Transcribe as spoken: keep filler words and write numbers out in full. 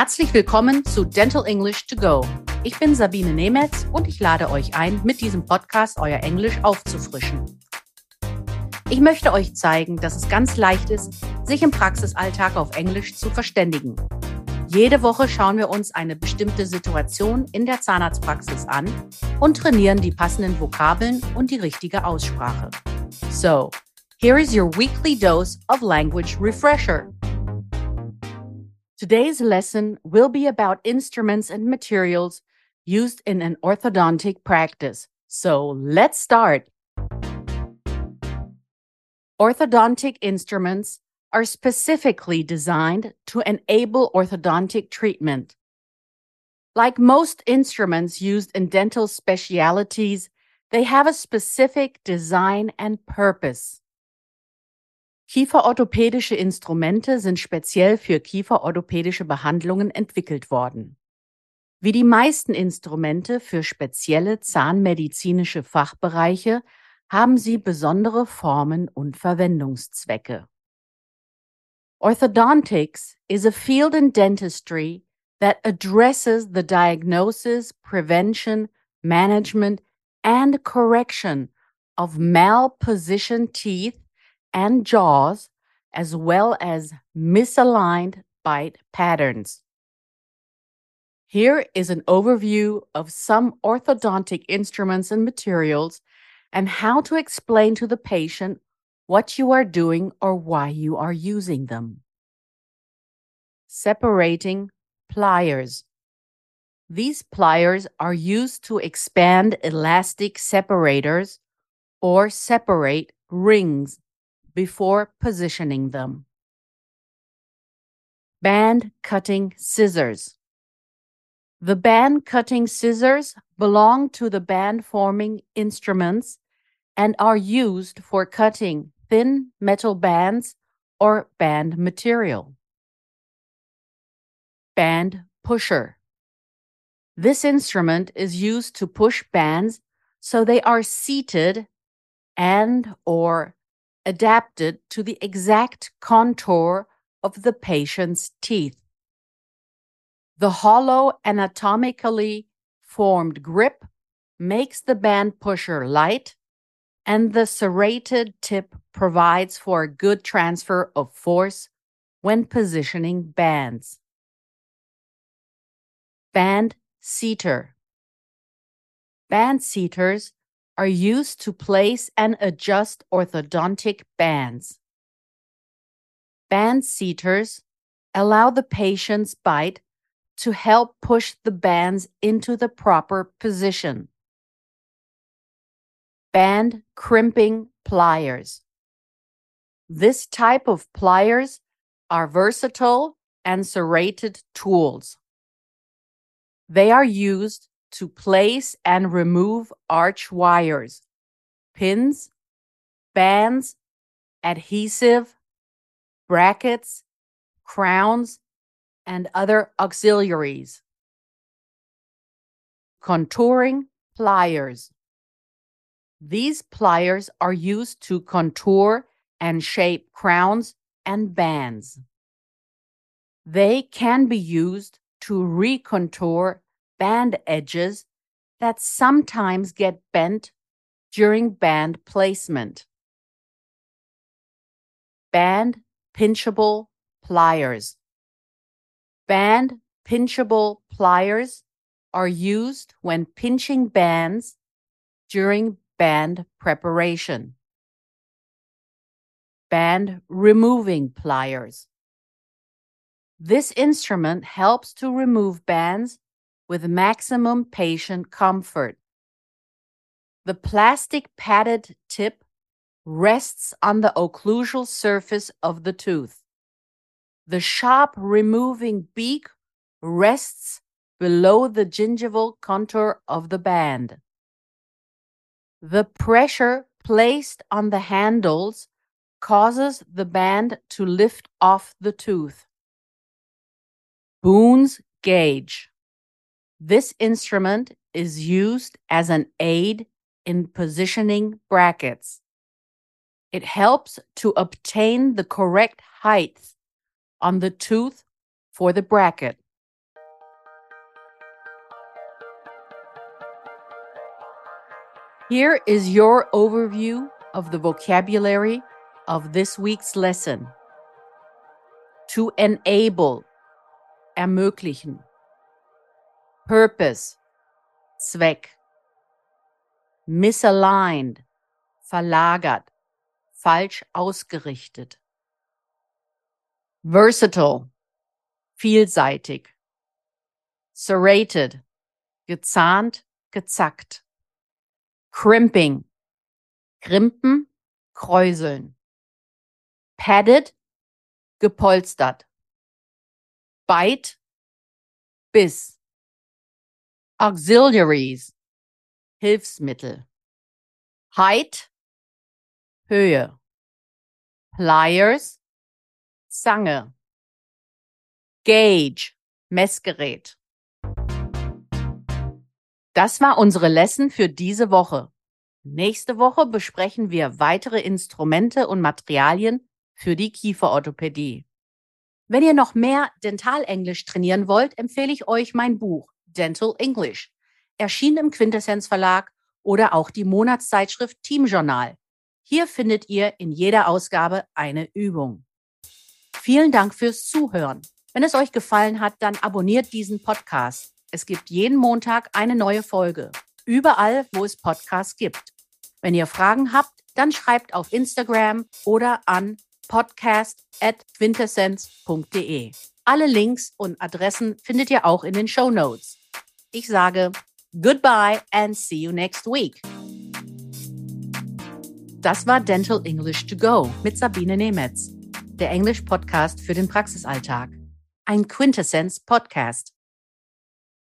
Herzlich willkommen zu Dental English to Go. Ich bin Sabine Nemetz und ich lade euch ein, mit diesem Podcast euer Englisch aufzufrischen. Ich möchte euch zeigen, dass es ganz leicht ist, sich im Praxisalltag auf Englisch zu verständigen. Jede Woche schauen wir uns eine bestimmte Situation in der Zahnarztpraxis an und trainieren die passenden Vokabeln und die richtige Aussprache. So, here is your weekly dose of language refresher. Today's lesson will be about instruments and materials used in an orthodontic practice. So, let's start. Orthodontic instruments are specifically designed to enable orthodontic treatment. Like most instruments used in dental specialties, they have a specific design and purpose. Kieferorthopädische Instrumente sind speziell für kieferorthopädische Behandlungen entwickelt worden. Wie die meisten Instrumente für spezielle zahnmedizinische Fachbereiche haben sie besondere Formen und Verwendungszwecke. Orthodontics is a field in dentistry that addresses the diagnosis, prevention, management, and correction of malpositioned teeth and jaws, as well as misaligned bite patterns. Here is an overview of some orthodontic instruments and materials and how to explain to the patient what you are doing or why you are using them. Separating pliers. These pliers are used to expand elastic separators or separate rings before positioning them. Band cutting scissors. The band cutting scissors belong to the band forming instruments and are used for cutting thin metal bands or band material. Band pusher. This instrument is used to push bands so they are seated and or adapted to the exact contour of the patient's teeth. The hollow, anatomically formed grip makes the band pusher light, and the serrated tip provides for a good transfer of force when positioning bands. Band seater. Band seaters are used to place and adjust orthodontic bands. Band seaters allow the patient's bite to help push the bands into the proper position. Band crimping pliers. This type of pliers are versatile and serrated tools. They are used to place and remove arch wires, pins, bands, adhesive, brackets, crowns, and other auxiliaries. Contouring pliers. These pliers are used to contour and shape crowns and bands. They can be used to recontour band edges that sometimes get bent during band placement. Band pinchable pliers. Band pinchable pliers are used when pinching bands during band preparation. Band removing pliers. This instrument helps to remove bands with maximum patient comfort. The plastic padded tip rests on the occlusal surface of the tooth. The sharp removing beak rests below the gingival contour of the band. The pressure placed on the handles causes the band to lift off the tooth. Boone's gauge. This instrument is used as an aid in positioning brackets. It helps to obtain the correct height on the tooth for the bracket. Here is your overview of the vocabulary of this week's lesson. To enable, ermöglichen. Purpose, Zweck. Misaligned, verlagert, falsch ausgerichtet. Versatile, vielseitig. Serrated, gezahnt, gezackt. Crimping, krimpen, kräuseln. Padded, gepolstert. Bite, Biss. Auxiliaries, Hilfsmittel. Height, Höhe. Pliers, Zange. Gauge, Messgerät. Das war unsere Lesson für diese Woche. Nächste Woche besprechen wir weitere Instrumente und Materialien für die Kieferorthopädie. Wenn ihr noch mehr Dentalenglisch trainieren wollt, empfehle ich euch mein Buch Dental English, erschienen im Quintessenz Verlag, oder auch die Monatszeitschrift Team Journal. Hier findet ihr in jeder Ausgabe eine Übung. Vielen Dank fürs Zuhören. Wenn es euch gefallen hat, dann abonniert diesen Podcast. Es gibt jeden Montag eine neue Folge. Überall, wo es Podcasts gibt. Wenn ihr Fragen habt, dann schreibt auf Instagram oder an podcast at quintessenz punkt de. Alle Links und Adressen findet ihr auch in den Shownotes. Ich sage goodbye and see you next week. Das war Dental English to Go mit Sabine Nemetz, der Englisch-Podcast für den Praxisalltag. Ein Quintessenz-Podcast.